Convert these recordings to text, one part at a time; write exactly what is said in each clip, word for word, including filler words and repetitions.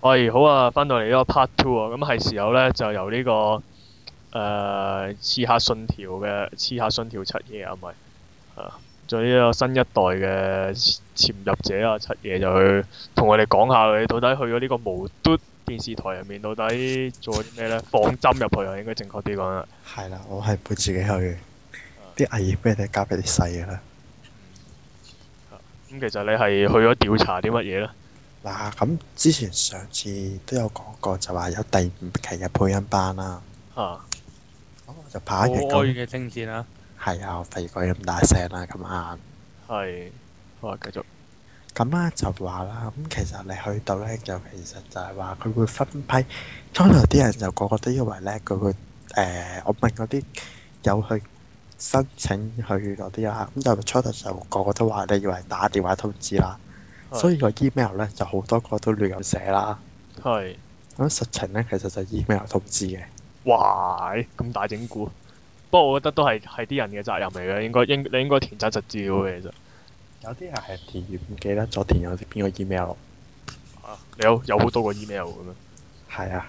喂，好啊，翻到嚟呢個 part two 啊，咁係時候咧就由呢、個誒刺客信條嘅刺客信條七爺啊，唔係啊，仲有呢個新一代嘅潛入者啊，七爺就去同我哋講下佢到底去咗呢個無嘟電視台入面到底做咗啲咩咧？放針入去啊，應該正確啲講啦。 係啦，我係會自己去嘅， 啊啲危險俾你交俾啲細嘅啦。 啊咁其實你係去咗調查啲乜嘢咧？ 嗱，咁之前上次都有講過，就話有第五期嘅配音班啦。 嚇咁我就拍可一日咁， 愛嘅聲線啊！ 係啊，我費事講咁大聲啦，咁啱。 係好啊，繼續。 咁咧就話啦，咁其實你去到咧，就其實就係話佢會分批。初頭啲人就個個都以為咧，佢會誒，我問嗰啲有去申請去嗰啲啦，咁就初頭就個個都話你以為打電話通知啦。所以個 email 咧就好多個都亂咁寫啦。 係。 咁實情咧其實就 email 通知嘅。 哇！咁大整蠱。不過我覺得都係係啲人嘅責任嚟嘅，應該應你應該填真實資料嘅其實。 有啲人係填完唔記得咗填咗啲邊個 email。 啊，你有有好多個 email 嘅咩？ 係啊。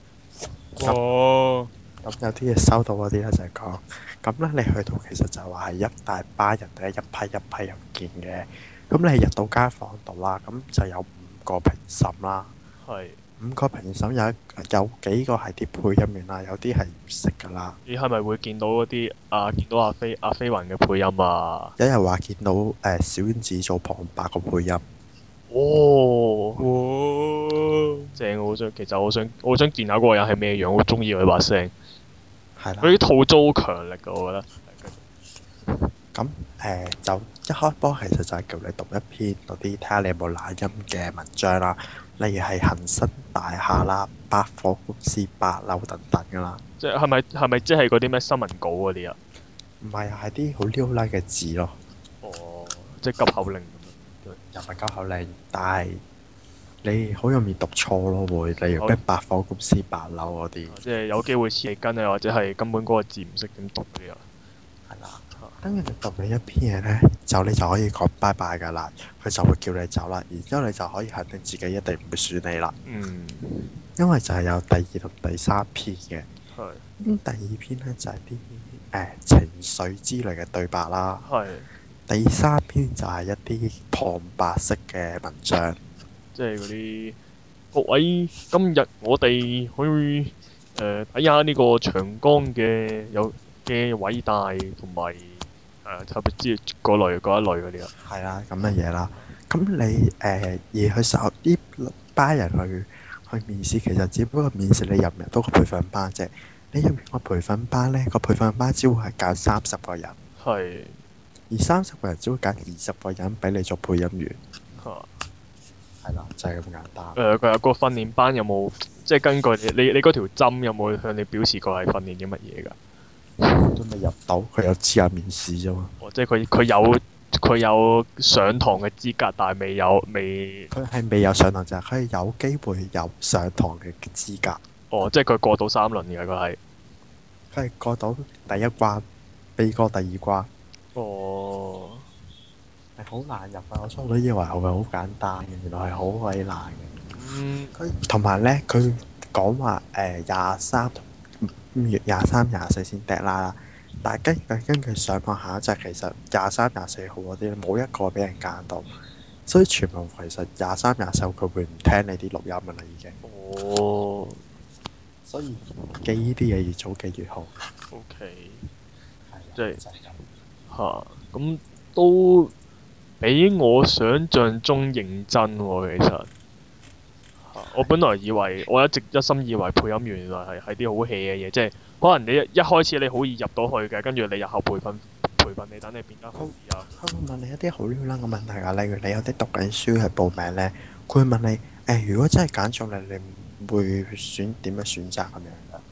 哦， 咁有啲嘢收到嗰啲咧就係講，咁咧你去到其實就話係一大班人咧一批一批入見嘅。咁你入到間房度啦，咁就有五個評審啦。 係。 五個評審有一有幾個係啲配音員啦，有啲係唔識噶啦。 你係咪會見到嗰啲啊？見到阿飛阿飛雲嘅配音啊？ 有人話見到誒、呃、小丸子做旁白個配音。 哦， 哇！ 正！我好想，其實我想我想見下嗰個人係咩樣，我中意佢把聲。 係啦。 佢啲吐槽好強力㗎，我覺得。 咁誒、呃、就一開波其實就係叫你讀一篇嗰啲睇下你有冇懶音嘅文章啦，例如係恒生大廈啦、百貨公司八樓等等噶啦。 即係係咪係咪即係嗰啲咩新聞稿嗰啲啊？ 唔係啊，係啲好溜拉嘅字咯。 哦，即係急口令咁樣。 又唔係急口令，但係你好容易讀錯咯，會例如咩百貨公司八樓嗰啲。 即係有機會黐脷根啊，或者係根本嗰個字唔識點讀嗰啲啊。 係啦。跟住你讀完一篇嘢咧，就你就可以講拜拜噶啦，佢就會叫你走啦。然之後你就可以肯定自己一定唔會選你啦。 嗯。 因為就係有第二同第三篇嘅。 係。 咁第二篇咧就係啲誒情緒之類嘅對白啦。 係。 第三篇就係一啲旁白式嘅文章。 即係嗰啲各位，今日我哋去誒睇下呢個長江嘅有嘅偉大同埋誒特別之嗰類嗰一類嗰啲啊。 係啦，咁嘅嘢啦。咁你誒、呃、而去受呢班人去去面試，其實只不過面試你入唔入到個培訓班啫。你入完個培訓班咧，個培訓班只會係揀三十個人。 係。 而三十個人只會揀二十個人俾你做配音員。 嚇。 係啦，就係、是、咁簡單。 誒，佢有個訓練班有冇即係根據你你你嗰條針有冇向你表示過係訓練啲乜嘢㗎？ 都未入到，佢有資格面試啫嘛。 哦，即係佢佢有佢有上堂嘅資格，但係未有未。 佢係未有上堂就係佢係有機會有上堂嘅資格。 哦，即係佢過到三輪嘅佢係。 佢係過到第一關，未過第二關。 哦。 係好難入啊！我初都以為係會好簡單嘅，原來係好鬼難嘅。 嗯。 佢同埋咧，佢講話誒廿三五月廿三、廿四先 deadline 啦。但係根據根據上網下一集，其實廿三、廿四號嗰啲冇一個俾人揀到，所以全部其實廿三、廿四號佢會唔聽你啲錄音㗎啦，已經。 哦。 所以記呢啲嘢越早記越好。 O K。 係啊， 即係就係咁。 嚇，咁都比我想象中認真喎，其實。嚇！我本來以為，我一直一心以為配音員原來係係啲好 hea 嘅嘢，即係可能你一一開始你好易入到去嘅，跟住你日後培訓培訓你等你變得好啲啊。 佢會問你一啲好亂啦嘅問題啊，例如你有啲讀緊書去報名咧，佢會問你誒、欸，如果真係揀中你，你會選點樣選擇咁樣㗎？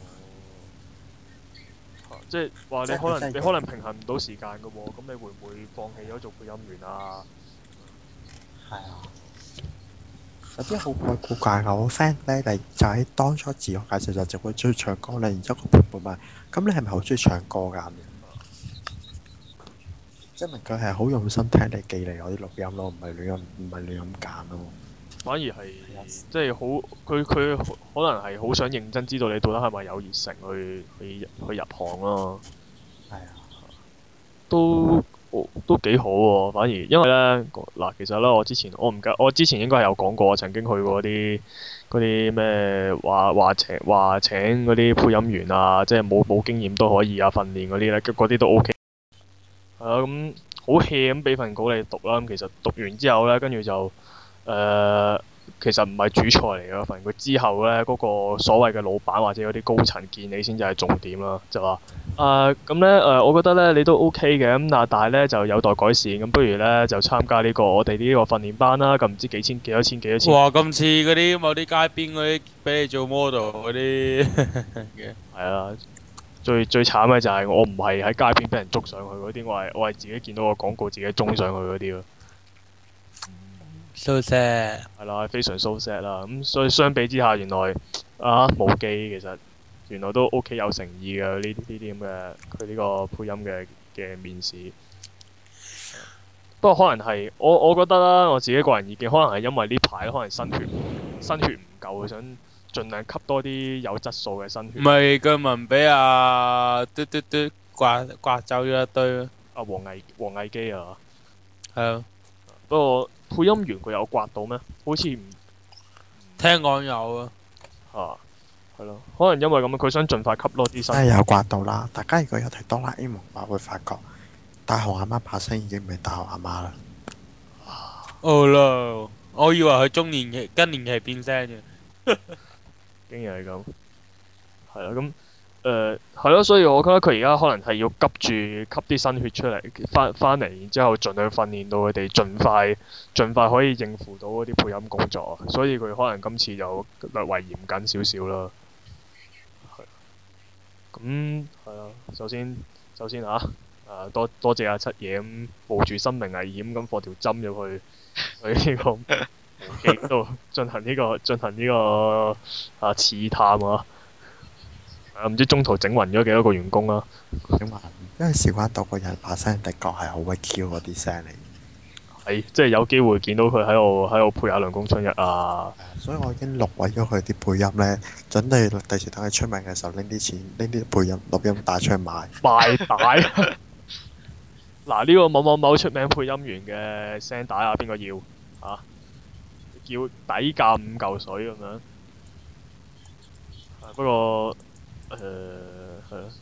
即係話你即係可能真係你可能平衡唔到時間嘅喎，咁你會唔會放棄咗做配音員啊？ 係啊，有啲好鬼古怪㗎。我 friend 咧，嚟就喺當初自我介紹就就會中意唱歌咧，然之後個伴伴問：咁你係咪好中意唱歌㗎？咁樣，證明佢係好用心聽你寄嚟嗰啲錄音咯，唔係亂咁唔係亂咁揀咯。 反而係即係好，佢佢可能係好想認真知道你到底係咪有熱誠去去去入行咯。 係啊， 都都幾好喎，反而因為咧嗱，其實咧我之前我唔記，我之前應該係有講過，我曾經去過啲嗰啲咩話話請話請嗰啲配音員啊，即係冇冇經驗都可以啊，訓練嗰啲咧，嗰啲都 O K。係啊，咁好 hea 咁俾份稿你讀啦，咁其實讀完之後咧，跟住就誒。呃其實唔係主菜嚟嘅份，佢之後呢，嗰、嗰個所謂嘅老闆或者嗰啲高層見你先至係重點啦，就話誒咁呢，誒、呃，我覺得呢，你都 OK 嘅，咁但係呢，就有待改善，咁不如呢，就參加呢、呢個我哋呢個訓練班啦，咁唔知幾千幾多千幾多千。哇！ 咁似嗰啲某啲街邊嗰啲俾你做 model 嗰啲嘅。係啊，最最慘嘅就係我唔係喺街邊俾人捉上去嗰啲，我係我係自己見到個廣告自己衝上去嗰啲咯。 so sad 係啦，非常 so sad 啦。咁、嗯、所以相比之下，原來啊無記其實原來都 OK 有誠意嘅呢呢啲咁嘅佢呢個配音嘅嘅面試。不過可能係我我覺得啦，我自己個人意見，可能係因為呢排可能新血新血唔夠，想盡量吸多啲有質素嘅新血。 唔係據聞俾阿嘟嘟嘟刮刮走咗一堆咯。 阿黃毅黃毅基啊。 係啊。 不過配音員佢有刮到咩？好似唔聽講有啊。 啊，係咯，可能因為咁樣，佢想盡快吸多啲新。 真係有刮到啦！大家如果有睇哆啦 A 夢話，會發覺大雄阿媽把聲已經唔係大雄阿媽啦。 哦啦，我以為佢中年期、更年期變聲嘅。 竟然係咁。係啦，咁。誒係咯，所以我覺得佢而家可能係要急住吸啲新血出嚟，翻翻嚟，然之後盡量訓練到佢哋盡快盡快可以應付到嗰啲配音工作，所以佢可能今次就略為嚴謹少少啦。係。咁係啊，首先首先嚇，誒、啊、多多謝阿七爺咁冒住生命危險咁放條針入去去呢個無記度進行呢、這個進行呢、這個啊刺探啊！唔、啊、知中途整暈咗幾多個員工啦、啊。 整暈，因為事關到個人把聲的確係好鬼 Q 嗰啲聲嚟。 係，即係有機會見到佢喺度喺度配下涼宮春日啊。 所以我已經錄毀咗佢啲配音咧，準備第時等佢出名嘅時候拎啲錢拎啲配音錄音帶出去賣。賣帶。嗱，呢個某某某出名配音員嘅聲帶啊，邊個要啊？叫底價五嚿水咁樣。不過。誒係咯，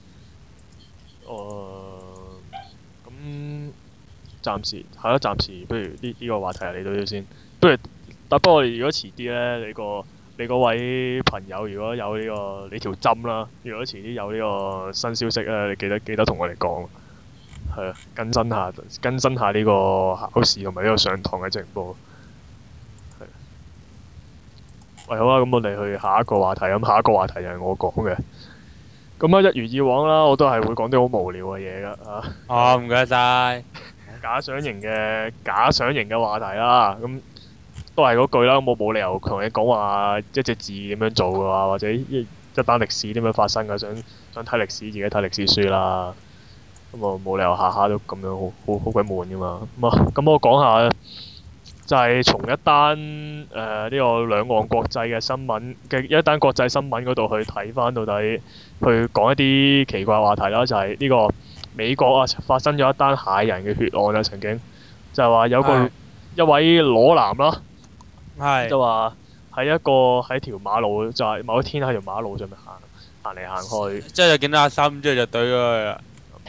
誒咁暫時係咯，暫時不如呢呢、呢個話題嚟到呢度先。不如，但不過如果遲啲咧，你個你嗰位朋友如果有呢、呢個你條針啦，如果遲啲有呢個新消息咧，你記得記得同我哋講，係啊，更新下更新下呢個考試同埋呢個上堂嘅情況。係。喂，好啊，咁我哋去下一個話題。咁下一個話題就係我講嘅。咁啊，一如以往啦，我都係會講啲好無聊嘅嘢噶嚇。 哦，唔該晒。 假想型嘅假想型嘅話題啦，咁都係嗰句啦。我冇理由同你講話一隻字點樣做嘅話，或者一一單歷史點樣發生嘅，想想睇歷史自己睇歷史書啦。咁我冇理由下下都咁樣好好好鬼悶噶嘛。咁啊，咁我講下就係從一單誒呢個兩岸國際嘅新聞嘅一單國際新聞嗰度去睇翻到底，去講一啲奇怪話題啦。就係、是、呢個美國啊發生咗一單駭人嘅血案啊，曾經就係話有個是一位裸男啦，是就話喺一個喺條馬路，就係、是、某一天喺條馬路上面行行嚟行去， 即係就見到阿三，之後就懟咗佢啦。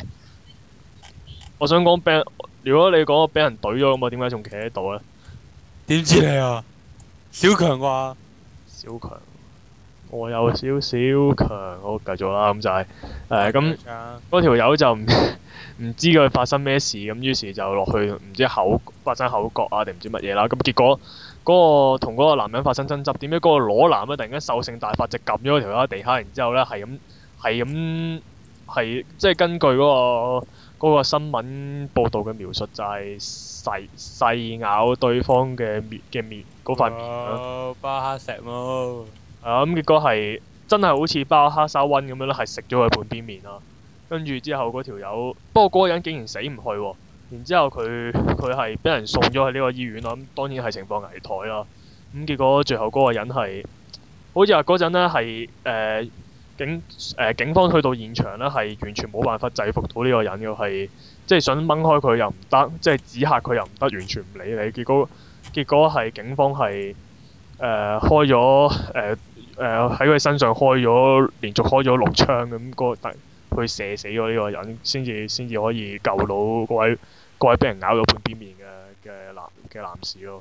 我想講俾人，如果你講我俾人懟咗咁，我點解仲企喺度咧？ 點知你啊？小強啩？ 小強，我有少少強，好繼續啦。咁就係誒咁嗰條友就唔唔知佢發生咩事，咁於是就落去唔知口發生口角啊定唔知乜嘢啦。咁結果嗰個同嗰個男人發生爭執，點解嗰個裸男咧突然間獸性大發，就撳咗條友喺地下，然之後咧係咁係咁係即係根據嗰個。嗰個新聞報導嘅描述就係細細咬對方嘅面嘅面嗰塊面啦， 包黑石咯。 係啊，咁結果係真係好似包黑沙溫咁樣咧，係食咗佢半邊面啦。跟住之後嗰條友，不過嗰個人竟然死唔去喎、啊。然之後佢佢係俾人送咗去呢個醫院啦。咁當然係情況危殆啦。 咁結果最後嗰個人係好似話嗰陣咧係誒警誒、呃、警方去到現場咧係完全冇辦法制服到呢個人嘅，係即係想掹開佢又唔得，即係指嚇佢又唔得，完全唔理你。結果結果係警方係誒、呃、開咗誒誒喺佢身上開咗連續開咗六槍咁，嗰個去射死咗呢個人，先至先至可以救到嗰位嗰位俾人咬咗半邊面嘅嘅男嘅男士咯。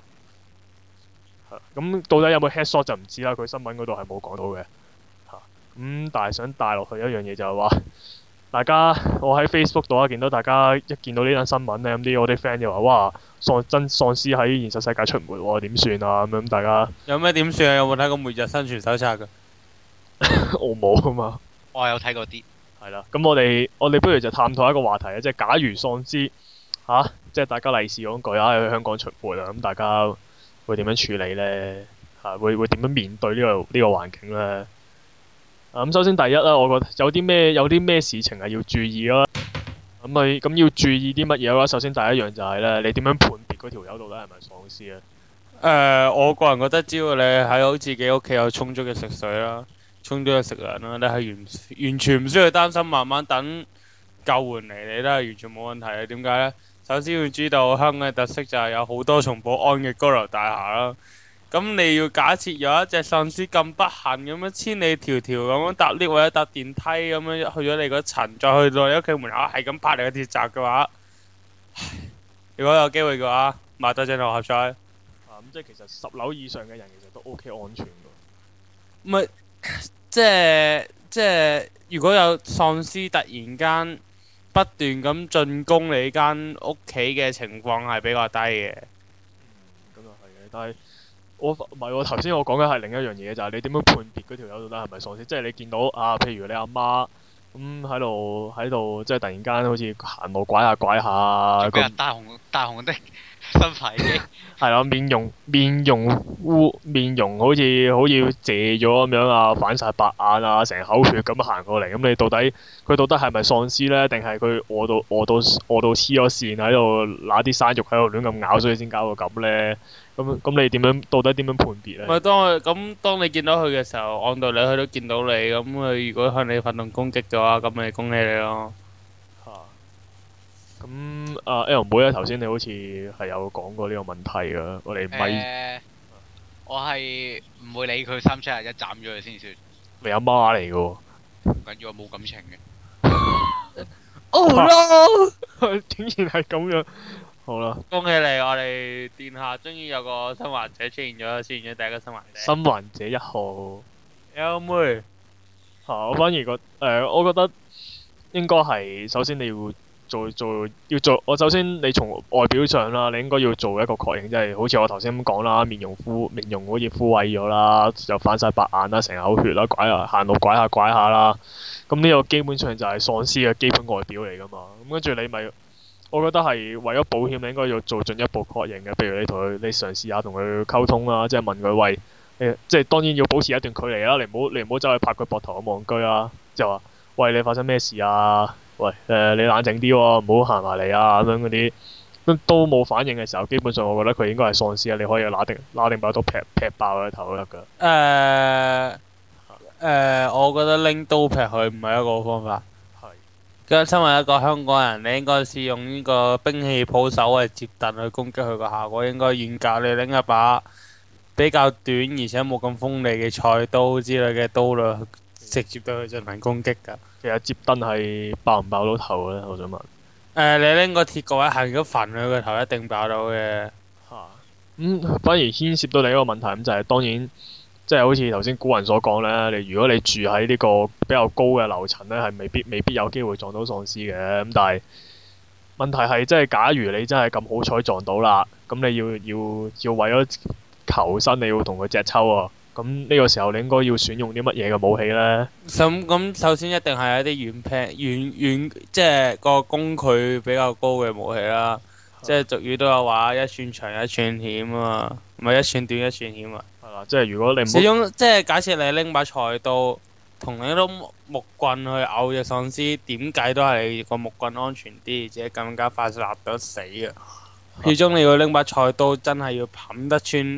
咁到底有冇 headshot 就唔知啦，佢新聞嗰度係冇講到嘅。嚇，咁但係想帶落去一樣嘢就係話，大家我喺 Facebook 度啊見到大家一見到呢單新聞咧，咁啲我啲 friend 就話：哇，喪真喪屍喺現實世界出沒喎，點算啊？咁樣大家有咩點算啊？有冇睇過《末日生存手冊》㗎？ 我冇啊嘛。 我有睇過啲。 係啦，咁我哋我哋不如就探討一個話題啊，即係假如喪屍嚇，即係大家利是嗰句啊，喺香港出沒啊，咁大家會點樣處理呢？嚇，會會點樣面對呢個呢個環境呢？啊，咁首先第一啦，我覺得有啲咩有啲咩事情係要注意啦。咁咪咁要注意啲乜嘢咧？首先第一樣就係咧，你點樣判別嗰條友到底係咪喪屍咧？ 誒，我個人覺得只要你喺好自己屋企有充足嘅食水啦。充足嘅食糧啦，你係完完全唔需要擔心，慢慢等救援嚟，你都係完全冇問題嘅。點解呢？首先要知道香港嘅特色就係有好多重保安嘅高樓大廈啦。咁你要假設有一隻喪屍咁不幸咁樣千里迢迢咁樣搭 lift 或者搭電梯咁樣去咗你嗰層，再去到你屋企門口係咁拍你個鐵閘嘅話，如果有機會嘅話，買多張六合彩。 啊，咁即係其實十樓以上嘅人其實都 OK 安全㗎。 唔係。即係即係，如果有喪屍突然間不斷咁進攻你間屋企嘅情況係比較低嘅。 嗯，咁又係嘅，但係我唔係喎，頭先我講嘅係另一樣嘢，就係、是、你點樣判別嗰條友到底係咪喪屍？即係你見到啊，譬如你阿媽咁喺度喺度，即係突然間好似行路拐下拐下咁。 大紅大紅的新牌機。 係啦，面容面容污面容好似好似謝咗咁樣啊，反晒白眼啊，成口血咁行過嚟。咁你到底佢到底係咪喪屍呢？定係佢餓到餓到餓到黐咗線喺度揦啲生肉喺度亂咁咬，所以先搞到咁呢？咁咁你點樣到底點樣判別呢？ 咪當佢咁，當你見到佢嘅時候，按道理佢都見到你。咁佢如果向你發動攻擊嘅話，咁咪恭喜你咯。 咁啊 L 妹咧，頭先你好似係有講過呢個問題㗎，我哋咪、 呃、我係唔會理佢三七廿一斬咗佢先算。 你阿媽嚟㗎喎， 唔緊要，我冇感情嘅。 Oh no！ 竟然係咁樣，好啦， 恭喜你，我哋殿下終於有個生還者出現咗，出現咗第一個生還者。 生還者一號 L 妹嚇、啊，我反而覺誒、呃，我覺得應該係首先你要。做做要做，我首先你從外表上啦，你應該要做一個確認，即係好似我頭先咁講啦，面容枯面容好似枯萎咗啦，就反晒白眼啦，成口血啦，拐下行路拐下拐下啦，咁呢個基本上就係喪屍嘅基本外表嚟㗎嘛。咁跟住你咪，我覺得係為咗保險，你應該要做進一步確認嘅，譬如你同佢，你嘗試下同佢溝通啦，即係問佢喂，誒，即係當然要保持一段距離啦，你唔好你唔好走去拍佢膊頭咁戇居啦，就話喂，你發生咩事啊？喂，誒、呃、你冷靜啲喎，唔好行埋嚟啊！咁樣嗰啲都都冇反應嘅時候，基本上我覺得佢應該係喪屍啊！你可以拿定拿定把刀劈劈爆佢頭都得㗎。誒誒、 呃呃，我覺得拎刀劈佢唔係一個方法。 係。 咁身為一個香港人，你應該試用呢個兵器抱手嘅接盾去攻擊佢個效果，應該遠較你拎一把比較短而且冇咁鋒利嘅菜刀之類嘅刀啦，直接對佢進行攻擊㗎。 其實接燈係爆唔爆到頭咧？我想問。誒、 呃，你拎個鐵角位行咗焚佢個頭，一定爆到嘅。 嚇、啊。咁、嗯、反而牽涉到你一個問題，咁就係、是、當然，即係好似頭先古人所講咧，你如果你住喺呢個比較高嘅樓層咧，係未必未必有機會撞到喪屍嘅。咁但係問題係，即係假如你真係咁好彩撞到啦，咁你要要要為咗求生，你要同佢隻抽啊！咁呢個時候你應該要選用啲乜嘢嘅武器呢？ 咁咁首先一定係一啲遠劈遠遠，即係個攻距比較高嘅武器啦。即係俗語都有話一寸長一寸險啊嘛，唔係一寸短一寸險啊。 係啦，即係如果你唔始終即係假設你拎把菜刀同你攞木棍去咬隻喪屍，點計都係個木棍安全啲，而且更加快立得死啊！始終你要拎把菜刀，真係要冚得穿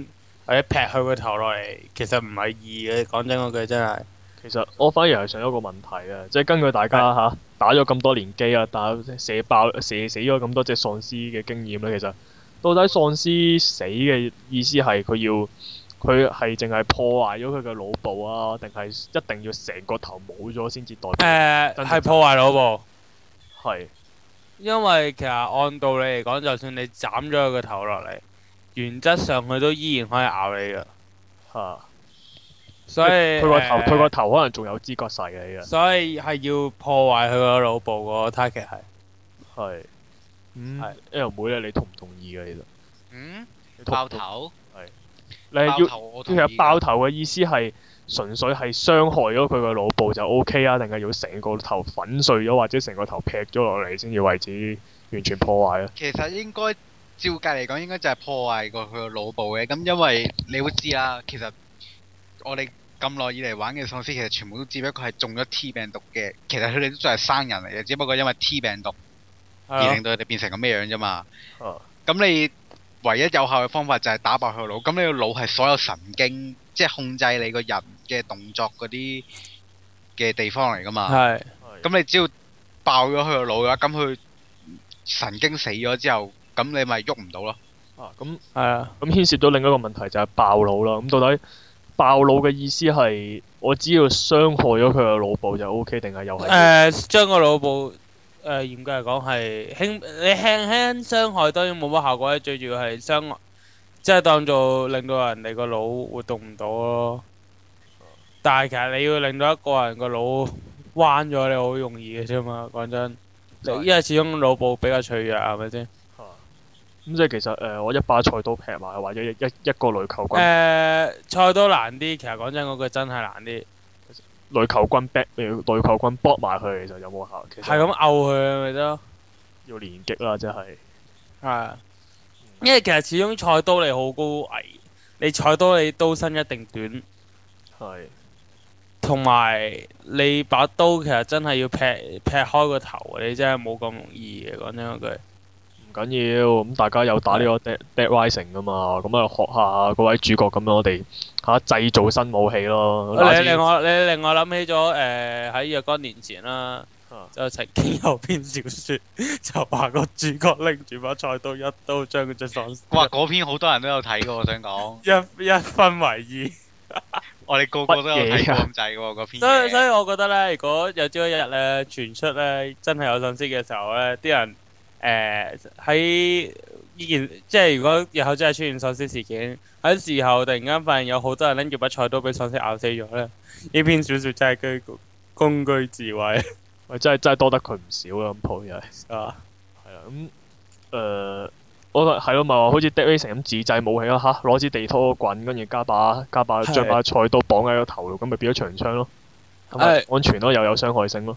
或者劈佢個頭落嚟，其實唔係易嘅。講真嗰句真係。 其實我反而係想一個問題啊，即係根據大家嚇打咗咁多年機啊，打射爆射死咗咁多隻喪屍嘅經驗咧，其實到底喪屍死嘅意思係佢要佢係淨係破壞咗佢嘅腦部啊，定係一定要成個頭冇咗先至代表？ 誒真係係破壞腦部， 係因為其實按道理嚟講，就算你斬咗佢個頭落嚟，原則上佢都依然可以咬你㗎。 嚇， 所以佢個頭誒佢個頭可能仲有知覺勢嘅， 所以係要破壞佢個腦部個 target 係。 係。嗯係 ，L 妹咧，你同唔同意嘅其實？ 嗯， 你同唔同爆頭， 你係要爆頭我其實同意㗎爆頭嘅意思係純粹係傷害咗佢個腦部就 O K 啊，定係要成個頭粉碎咗或者成個頭劈咗落嚟先至為止完全破壞啊？ 其實應該照計嚟講，應該就係破壞過佢個腦部嘅。咁因為你會知啦，其實我哋咁耐以嚟玩嘅喪屍，其實全部都只不過係中咗 T 病毒嘅。其實佢哋都仲係生人嚟嘅，只不過因為 T 病毒而令到佢哋變成咁咩樣啫嘛。 啊咁你唯一有效嘅方法就係打爆佢個腦。咁你個腦係所有神經，即係控制你個人嘅動作嗰啲嘅地方嚟噶嘛。 係咁你只要爆咗佢個腦嘅話，咁佢神經死咗之後，咁你咪喐唔到咯。 啊咁係啊。 咁牽涉到另一個問題就係爆腦啦。咁到底爆腦嘅意思係我只要傷害咗佢個腦部就 O K，定係又係？ 誒將個腦部誒嚴格嚟講係輕，你輕輕傷害當然冇乜效果咧，最主要係傷，即係當做令到人哋個腦活動唔到咯。但係其實你要令到一個人個腦彎咗，你好容易嘅啫嘛。講真， 係因為始終腦部比較脆弱，係咪先？ 啊咁即係其實誒、呃，我一把菜刀劈埋，或者一一一個雷球誒、 棍， 菜刀難啲，其實講真嗰句真係難啲。 雷球棍劈，雷球棍搏埋佢，其實有冇效？其實係咁毆佢咪得咯。 要連擊啦，即係。 係啊，因為其實始終菜刀你好高危，你菜刀你刀身一定短， 係。 同埋你把刀其實真係要劈劈開個頭，你真係冇咁容易嘅。講真嗰句。 唔緊要，咁大家有打呢個 Dead Dead Rising 噶嘛，咁啊學下嗰位主角咁樣，我哋嚇製造新武器咯。 你令我你令我諗起咗誒喺若干年前啦， 啊就曾經有篇小説就話個主角拎住把菜刀一刀將佢隻喪哇！嗰篇好多人都有睇過，我想講， 一一分為二。 我哋個個都有睇過乜嘢啊咁滯嘅喎嗰篇所以所嘢。 以我覺得咧，如果有朝一日咧傳出咧真係有喪屍嘅時候咧，啲人誒喺呢件即係如果日後真係出現喪屍事件，喺時候突然間發現有好多人拎住把菜刀俾喪屍咬死咗咧，呢篇小説真係居公居智慧喂，真係真係多得佢唔少啦，咁鋪又係。 啊！ 係啦，咁誒，我覺得係咯，咪話好似 Dead Rising 咁自製武器咯嚇，攞支地拖棍，跟住加把加把將把菜刀綁喺個頭度，咁咪變咗長槍咯。咁咪係安全咯，又有傷害性咯。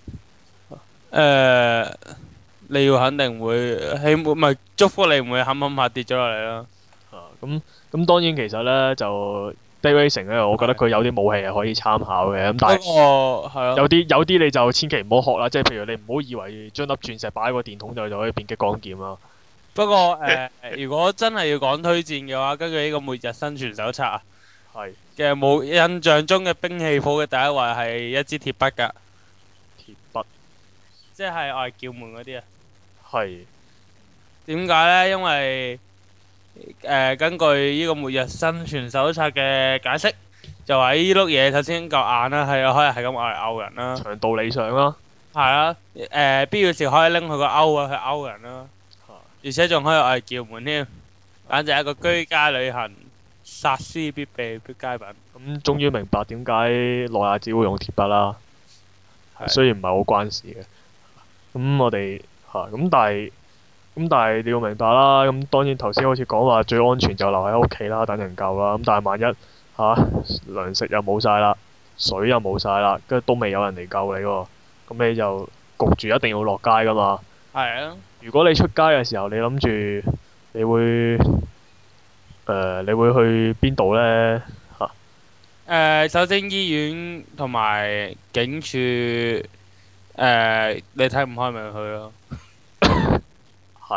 誒，你要肯定會希望唔係祝福你唔會冚冚下跌咗落嚟啦。 啊，咁咁當然其實咧就 Dead Rising 咧，我覺得佢有啲武器係可以參考嘅，咁但係不過係咯， 有啲有啲你就千祈唔好學啦，即係譬如你唔好以為將粒鑽石擺喺個電筒度就可以變激光劍啦。 不過誒，如果真係要講推薦嘅話，根據呢個《末日生存手冊》啊係嘅冇印象中嘅兵器譜嘅第一位係一支鐵筆㗎， 鐵筆， 即係我係叫門嗰啲啊。 係點解呢？因為誒、呃、根據呢個《末日生存手冊》嘅解釋，就話呢碌嘢首先夠硬啦，係可以係咁嚟毆人啦， 長道理上啦。 係啊，誒必要時可以拎佢個勾啊去勾人啦，而且仲可以嚟叫門添，簡直係一個居家旅行殺屍必備必佳品。 咁終於明白點解諾亞只會用鐵筆啦。 係雖然唔係好關事嘅。咁我哋嚇咁，但係咁但係你要明白啦。咁當然頭先好似講話最安全就留喺屋企啦，等人救啦。咁但係萬一嚇糧食又冇晒啦，水又冇晒啦，跟住都未有人嚟救你喎，咁你就焗住一定要落街噶嘛。 係啊， 如果你出街嘅時候，你諗住你會誒、呃、你會去邊度呢？嚇、 誒首先醫院同埋警署誒，你睇唔開咪去咯。 係，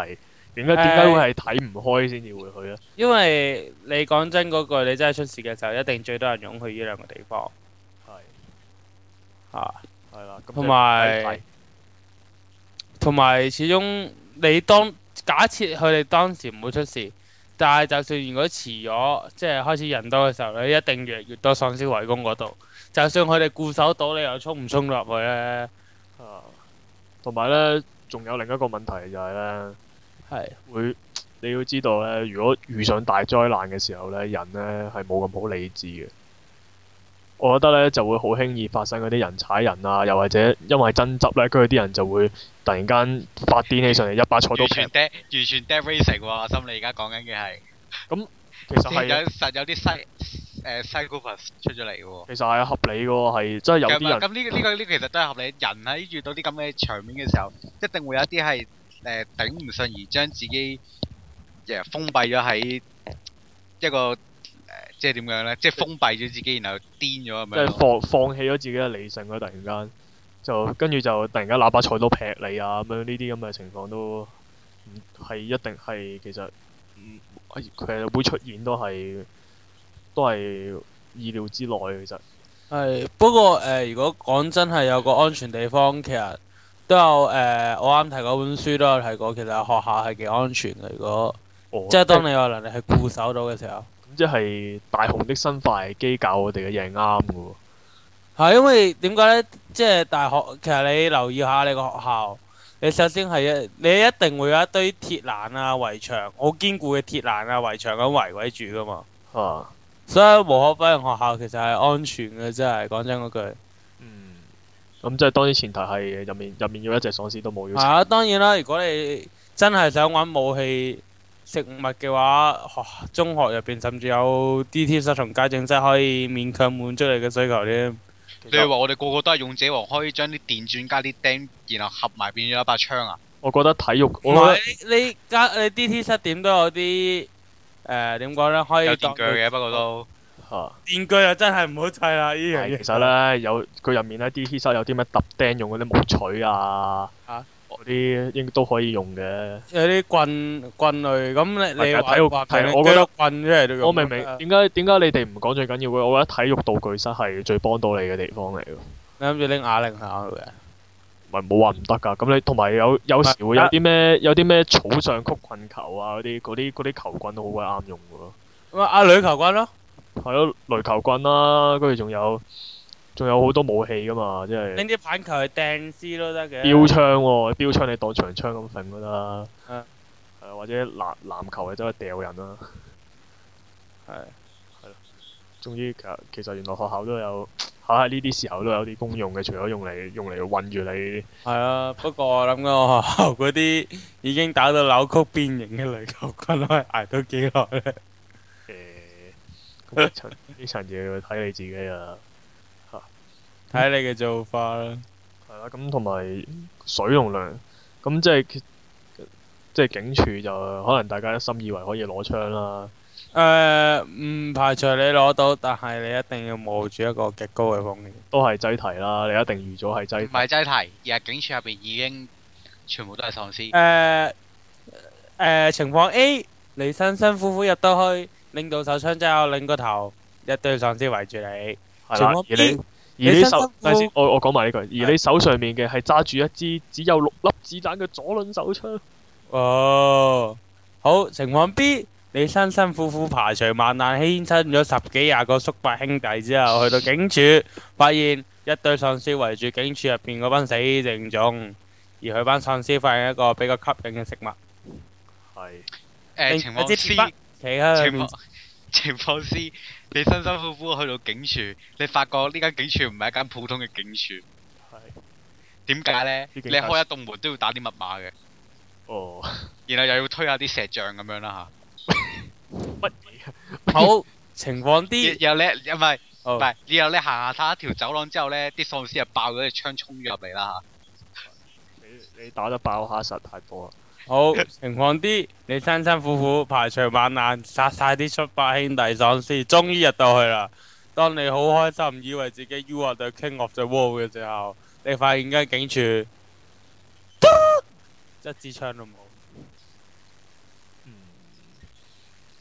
點解點解會係睇唔開先至會去咧？ 因為你講真嗰句，你真係出事嘅時候，一定最多人湧去呢兩個地方。 係嚇， 係啦，咁同埋係同埋始終你當假設佢哋當時唔會出事，但係就算如果遲咗，即係開始人多嘅時候，你一定越嚟越多喪屍圍攻嗰度。就算佢哋固守到，你又衝唔衝入去咧？ 啊，同埋咧，仲有另一個問題就係咧。 係會，你要知道咧，如果遇上大災難嘅時候咧，人咧係冇咁好理智嘅。我覺得咧就會好輕易發生嗰啲人踩人啊，又或者因為爭執咧，跟住啲人就會突然間發癲起上嚟，一把菜刀劈。 完全 dead 完全 dead racing 喎，阿心你而家講緊嘅係。 咁其實係有實有啲西誒 psychopath 出咗嚟嘅喎。 其實係合理嘅喎，係真係有啲人。 咁呢個呢個呢個其實都係合理。人喺遇到啲咁嘅場面嘅時候，一定會有一啲係誒頂唔順而將自己誒封閉咗喺一個誒，即係點樣咧？即係封閉咗自己，然後癲咗咁樣。 即係放放棄咗自己嘅理性咯，突然間就跟住就突然間拿把菜刀劈你啊咁樣，呢啲咁嘅情況都唔係一定係其實唔其實會出現都係都係意料之內嘅其實。 係不過誒、呃，如果講真係有個安全地方，其實都有誒、呃，我啱提嗰本書都有提過，其實學校係幾安全嘅。如果、 哦、 即係當你有能力去固守到嘅時候， 咁即係大雄的生化危機教我哋嘅嘢係啱嘅喎。 係因為點解呢？即係大學，其實你留意下你個學校，你首先係一，你一定會有一堆鐵欄啊、圍牆，好堅固嘅鐵欄啊、圍牆咁圍圍住噶嘛。 啊， 所以無可否認學校其實係安全嘅，真係講真嗰句。 嗯，咁即係當然前提係入面入面要一隻喪屍都冇要。 係啊，當然啦，如果你真係想揾武器、食物嘅話，學中學入邊甚至有 D T 室同家政室可以勉強滿足你嘅需求添。 你係話我哋個個都係勇者王，可以將啲電鑽加啲釘，然後合埋變咗一把槍啊？ 我覺得體育， 唔我覺係你你加你 D T 室點都有啲誒點講呢？可以有當電鋸嘅，不過都得嚇。 電鋸又真係唔好砌啦！呢樣嘢係其實咧有佢入面咧 D T 室有啲咩揼釘用嗰啲木錘啊， 嚇嗰啲應該都可以用嘅。 有啲棍棍類咁你你話係啊體育話係平我覺得棍出嚟都用我明明點解點解你哋唔講最緊要嘅？我覺得體育道具室係最幫到你嘅地方嚟㗎。 你諗住拎啞鈴下去嘅？ 唔係冇話唔得㗎，咁你同埋有有時會有啲咩有啲咩草上曲棍球啊嗰啲嗰啲嗰啲球棍都好鬼啱用㗎咯。 咁啊，阿女球棍咯。 係咯，壘球棍啦，跟住仲有仲有好多武器㗎嘛，即係拎啲棒球去掟絲都得嘅。 標槍喎，標槍你當長槍咁揈都得。 嗯係啊，或者籃籃球你走去掉人啦。 係。 終於其實其實原來學校都有喺呢啲時候都有啲功用嘅，除咗用嚟用嚟韞住你。 係啊，不過我諗緊我學校嗰啲已經打到扭曲變形嘅壘球棍，可以捱到幾耐咧？ 誒，咁呢層呢層嘢要睇你自己啊。 睇你嘅做法啦。 係啦，咁同埋水同糧，咁即係即係警署就可能大家一心以為可以攞槍啦。 誒，唔排除你攞到，但係你一定要冒住一個極高嘅風險。 都係擠題啦，你一定預咗係擠唔題。 係擠題，而係警署入邊已經全部都係喪屍。 誒誒，情況 A，你辛辛苦苦入到去，拎到手槍之後，擰個頭，一堆喪屍圍住你。 係啦， 情況而 B， 你而你手， 你辛辛苦等陣先，我我講埋呢句，而你手上面嘅係揸住一支只有六粒子彈嘅左輪手槍。 哦，好，情況 B，你辛辛苦苦排除萬難，犧牲咗十幾廿個叔伯兄弟之後，去到警署，發現一堆喪屍圍住警署入邊嗰班死剩種，而佢班喪屍發現一個比較吸引嘅食物， 係。 誒情況有支 C， 鐵筆企喺佢情面況情況 C，你辛辛苦苦去到警署，你發覺呢間警署唔係一間普通嘅警署。 係。 點解呢？ 啲警察你開一棟門都要打啲密碼嘅， 哦。 然後又要推下啲石像咁樣啦乜嘢？ 好，情況嚇。 D， 然後咧，唔係哦唔係，然後你行下睇一條走廊之後呢，啲喪屍就爆咗隻槍衝咗入嚟啦你你打得爆蝦實太多啦。 好，情況 D，你辛辛苦苦排除萬難，殺晒啲叔伯兄弟喪屍，終於入到去啦。當你好開心，以為自己 You are the king of the world 嘅時候，你發現間警署一支槍都冇。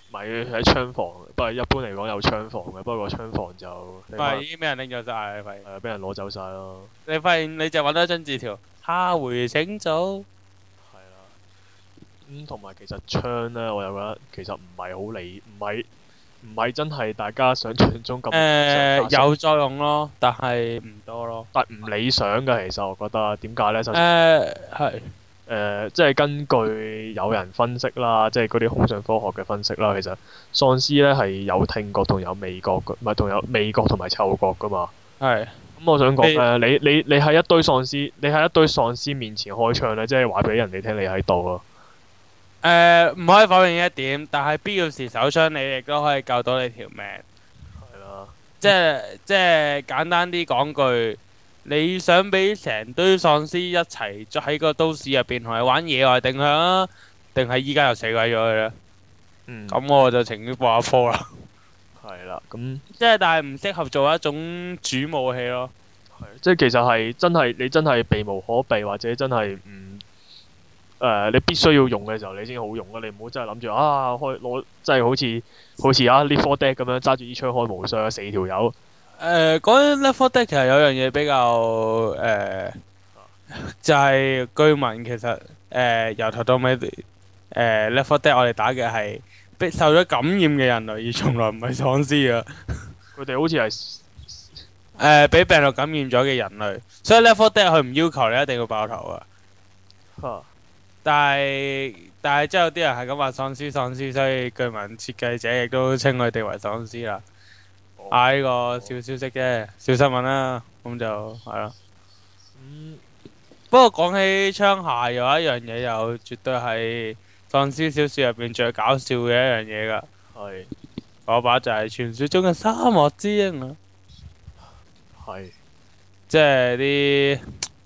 咪喺槍房，不過一般嚟講有槍房嘅，不過槍房就唔係已經俾人拎咗晒，你發現？ 係俾人攞走晒咯。 你發現你就揾到一張字條，下回請早。 係啦。咁同埋其實槍咧，我又覺得其實唔係好理，唔係唔係真係大家想象中咁。 誒有作用咯，但係唔多咯。 但唔理想嘅，其實我覺得點解咧？首先誒係。 誒、呃，即係根據有人分析啦，即係嗰啲空想科學嘅分析啦，其實喪屍咧係有聽覺同有味覺嘅，唔係同有味覺同埋嗅覺噶嘛。係。咁、嗯、我想講咧，你你你喺一堆喪屍，你喺一堆喪屍面前開槍咧，即係話俾人哋聽你喺度咯。 誒唔可以否認一點，但係必要時手槍你亦都可以救到你條命。 係啦。 即係即係簡單啲講句。你想俾成堆喪屍一齊喺個都市入邊同你玩野外定向啊？定係依家又死鬼咗佢咧？嗯。咁我就情願播下科啦。係啦，咁。即係但係唔適合做一種主武器咯。 係，即係其實係真係你真係避無可避，或者真係唔誒你必須要用嘅時候，你先好用啊！你唔好真係諗住啊開攞，即係好似好似啊 Left four Dead咁樣揸住支槍開無雙四條友。 誒講起 Left four Dead 其實有樣嘢比較誒、呃，就係、是、據聞其實誒、呃、由頭到尾誒 Left four Dead 我哋打嘅係被受咗感染嘅人類，而從來唔係喪屍啊！ 佢哋好似係誒俾病毒感染咗嘅人類，所以 Left four Dead 佢唔要求你一定要爆頭啊！ 哈但係但係之後有啲人係咁話喪屍喪屍，所以據聞設計者亦都稱佢哋為喪屍啦。啊！呢個小消息啫，小新聞啦，咁就係咯。嗯。不過講起槍械，有一樣嘢又絕對係喪屍小說入邊最搞笑嘅一樣嘢噶。係。嗰把就係傳說中嘅沙漠之鷹啊。係。即係啲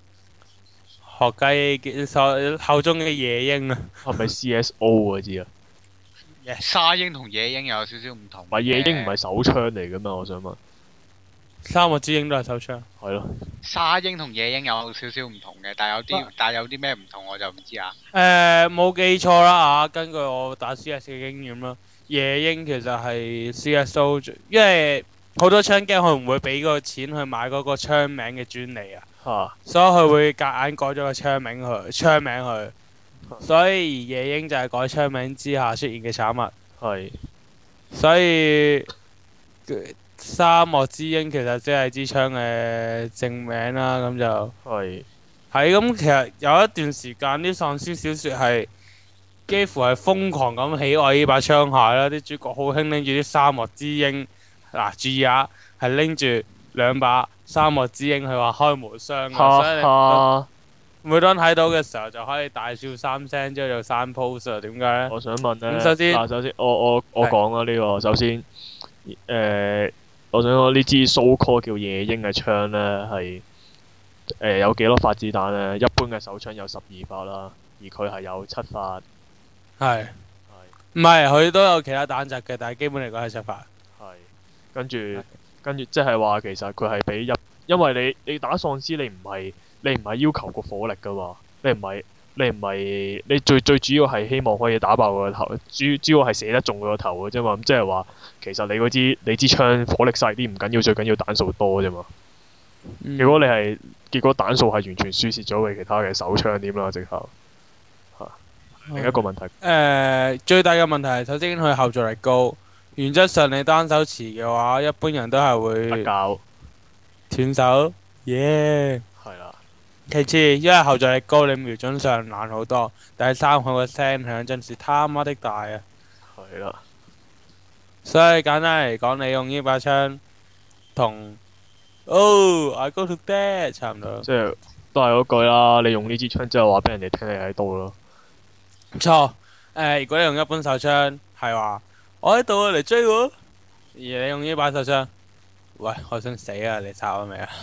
學雞所口中嘅野鷹啊。係咪 C S O 嗰支啊？ 沙鷹同野鷹又有少少唔同。 唔係野鷹唔係手槍嚟噶嘛？我想問。 沙漠之鷹都係手槍。係咯。 沙鷹同野鷹有少少唔同嘅，但係有啲但係有啲咩唔同我就唔知啊。 誒冇記錯啦啊！根據我打 C S 嘅經驗啦，野鷹其實係 C S O， 因為好多槍 game 佢唔會俾個錢去買嗰個槍名嘅專利啊。嚇。所以佢會夾硬改咗個槍名去槍名去。所以野鷹就係改槍名之下出現嘅產物。係。所以沙漠之鷹其實即係支槍嘅正名啦，咁就係。係咁，其實有一段時間啲喪屍小說係幾乎係瘋狂咁喜愛呢把槍械啦，啲主角好興拎住啲沙漠之鷹。嗱，注意下，係拎住兩把沙漠之鷹，佢話開無雙嘅。所以你每當睇到嘅時候就可以大笑三聲，之後就刪 post 啊？點解咧？我想問咧。咁首先，嗱，首先我我我講啦呢個。首先，誒，我想講呢支 so call 叫野鷹嘅槍咧，係誒有幾多發子彈咧？一般嘅手槍有十二發啦，而佢係有七發。係。係。唔係，佢都有其他彈夾嘅，但係基本嚟講係七發。係。跟住，跟住即係話其實佢係比一，因為你你打喪屍你唔係。你唔係要求個火力噶嘛？你唔係，你唔係，你最最主要係希望可以打爆佢個頭，主主要係射得中佢個頭嘅啫嘛。咁即係話，其實你嗰支你支槍火力細啲唔緊要，最緊要彈數多啫嘛。嗯、如果你係結果彈數係完全輸蝕咗俾其他嘅手槍點啦，直頭嚇。另一個問題。誒、呃，最大嘅問題係首先佢後座力高，原則上你單手持嘅話，一般人都係會不教斷手。耶！係啦。其次，因為後座力高，你瞄準上難好多。第三，佢個聲響真是他媽的大啊！係啦。所以簡單嚟講，你用呢把槍同 Oh I go to bed 差唔多。即係都係嗰句啦，你用呢支槍之後話俾人哋聽你喺度咯。唔錯。誒，如果你用一般手槍，係話我喺度嚟追我。而你用呢把手槍，喂，我想死啊！你插我未啊？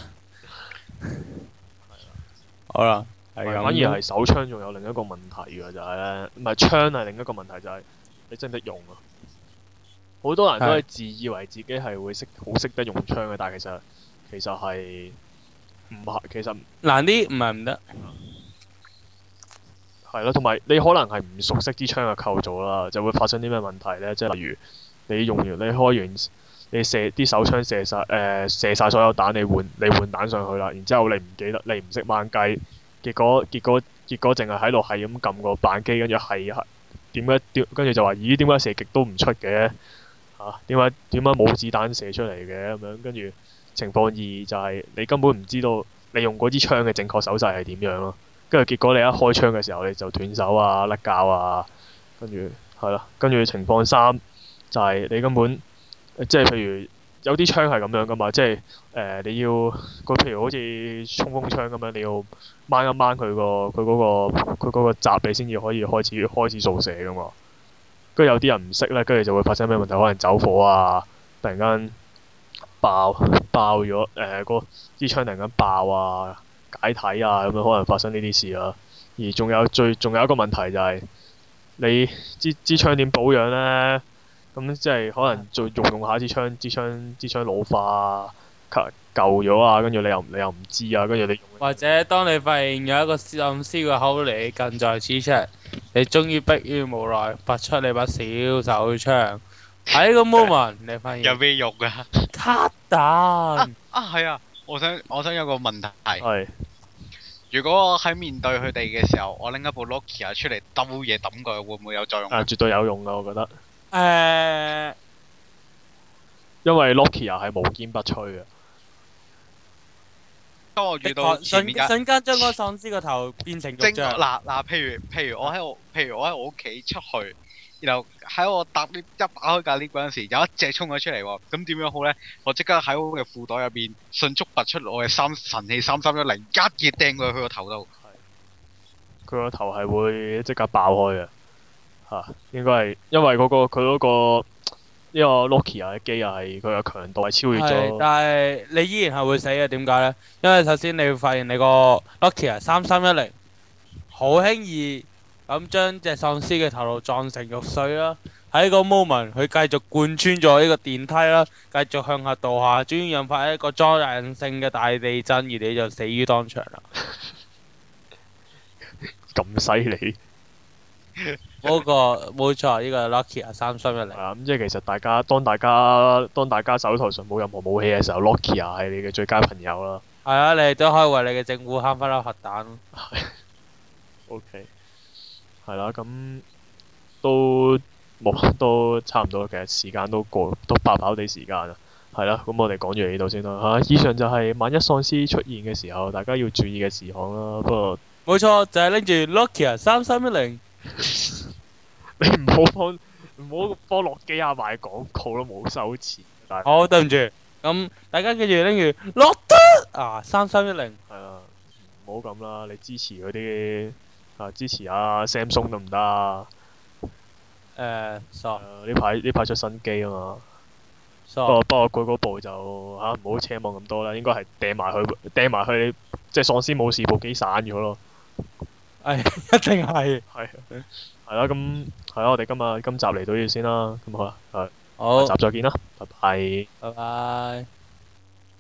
好啦，係咁。反而係手槍仲有另一個問題嘅就係咧，唔係槍係另一個問題就係你識唔識用啊？好多人都係自以為自己係會識好識得用槍嘅，但係其實其實係唔係其實難啲，唔係唔得。 係咯，同埋你可能係唔熟悉支槍嘅構造啦，就會發生啲咩問題咧？即係例如你用完你開完你射啲手槍射晒誒、呃、射曬所有彈，你換你換彈上去啦，然之後你唔記得你唔識掹雞，結果結果結果淨係喺度係咁撳個扳機，跟住係係點解點跟住就話咦點解射極都唔出嘅嚇？點解點解冇子彈射出嚟嘅咁樣？跟住情況二就係你根本唔知道你用嗰支槍嘅正確手勢係點樣咯。跟住結果你一開槍嘅時候你就斷手啊、甩膠啊，跟住係咯，跟住情況三就係你根本即係譬如有啲槍係咁樣噶嘛，即係誒、呃、你要個譬如好似衝鋒槍咁樣，你要掹一掹佢個佢嗰個佢嗰個閘，你先至可以開始開始掃射噶嘛。跟住有啲人唔識咧，跟住就會發生咩問題？可能走火啊，突然間爆爆咗誒個支槍突然間爆啊！解體啊，咁樣可能發生呢啲事啊。而仲有最仲有一個問題就係、是、你支支槍點保養呢？咁即係可能做用用下支槍，支槍支槍老化啊、舊咗啊，跟住你又你又唔知啊，跟住你或者當你發現有一個喪屍個口離你近在咫尺，你終於迫於無奈拔出你把小手槍，喺個 moment 你發現有咩用啊？ 卡彈啊啊係啊！我想我想有個問題係如果我喺面對佢哋嘅時候，我拎一部 Nokia 出嚟兜嘢抌佢，會唔會有作用？ 啊，絕對有用噶，我覺得。 誒， 因為 Nokia 係無堅不摧嘅。 當我遇到前瞬面架瞬間將個喪屍個頭變成肉正醬。 嗱嗱，譬如譬如我喺我譬如我喺我屋企出去，然後喺我搭 lift 一打開架 lift 嗰陣時，有一隻衝咗出嚟喎，咁點樣好咧？我即刻喺我嘅褲袋入邊迅速拔出我嘅三神器三三一零，一嘢掟過去佢個頭度。 佢個頭係會即刻爆開嘅。嚇、啊，應該係因為嗰、個佢嗰、個呢、個 Nokia 嘅機又係佢嘅強度係超越係， 咗。 但係你依然係會死嘅，點解呢？因為首先你會發現你個 Nokia 三三一零好輕易咁將隻喪屍嘅頭顱撞成肉碎啦。喺個 moment 佢繼續貫穿咗呢個電梯啦，繼續向下墮下，終於引發一個災難性嘅大地震，而你就死於當場啦。 咁犀利。 嗰、個冇錯，呢、個 Nokia 三三一零。 係啊，咁即係其實大家當大家當大家手頭上冇任何武器嘅時候，Nokia 係你嘅最佳朋友啦。 係啊，你哋都可以為你嘅政府慳翻粒核彈。 O K。係啦，咁都冇都差唔多，其實時間都過都爆爆地時間啦。係啦，咁我哋講完呢度先啦嚇。以上就係萬一喪屍出現嘅時候，大家要注意嘅事項啦。不過冇錯，就係拎住 Nokia 三三一零。 你唔好幫唔好幫諾基亞賣廣告都冇收錢。但係好，對唔住。咁大家記住拎住樂德啊三三一零。 係啦，唔好咁啦，你支持嗰啲啊支持下 Samsung 得唔得啊？ 誒，傻誒呢排呢排出新機啊嘛。 傻。 不過不過佢嗰部就嚇唔好奢望咁多啦，應該係掟埋佢掟埋佢，即係喪屍冇事部機散咗咯。 係一定係。 係係啦，咁係啦，我哋今日今集嚟到呢度先啦，咁好啦，係好， 下集再見啦，拜拜。 拜拜。